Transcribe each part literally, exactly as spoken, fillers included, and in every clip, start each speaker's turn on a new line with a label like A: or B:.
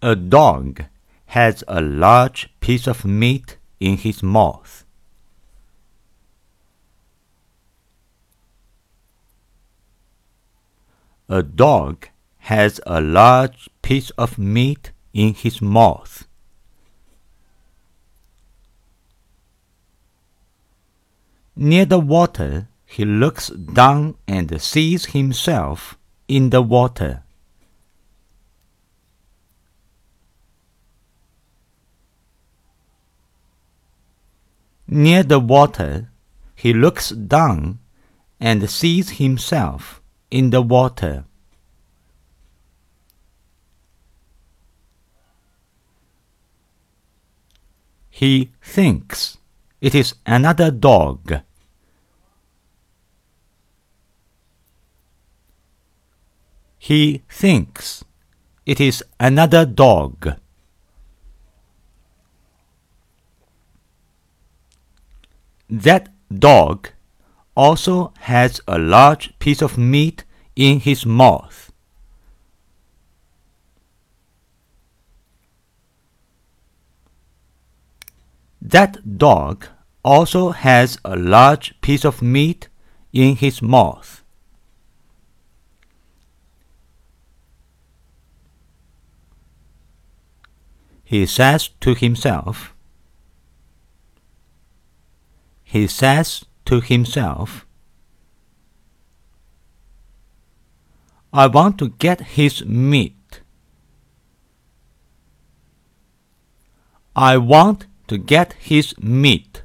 A: A dog has a large piece of meat in his mouth. A dog has a large piece of meat in his mouth. Near the water, he looks down and sees himself in the water. Near the water, he looks down and sees himself in the water. He thinks it is another dog. He thinks it is another dog. That dog also has a large piece of meat in his mouth. That dog also has a large piece of meat in his mouth. He says to himself, He says to himself, I want to get his meat. I want to get his meat.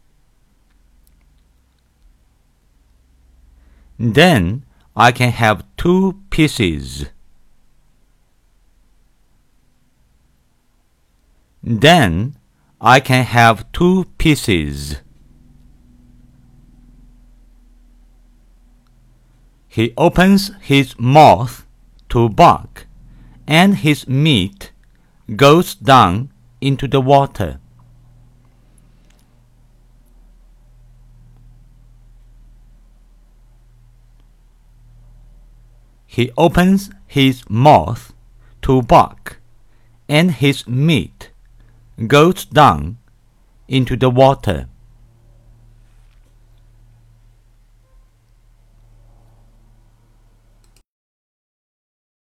A: Then I can have two pieces. Then I can have two pieces. He opens his mouth to bark, and his meat goes down into the water. He opens his mouth to bark, and his meat goes down into the water.